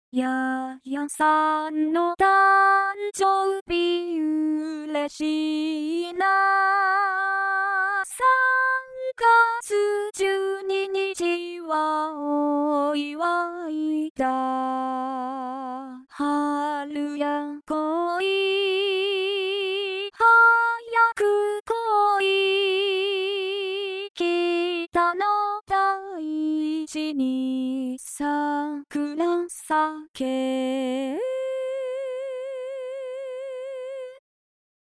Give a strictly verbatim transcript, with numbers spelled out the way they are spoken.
ややさんの誕生日嬉しいな。さんがつじゅうににちはお祝いだ。春や恋早く来い。北の大地に桜咲け。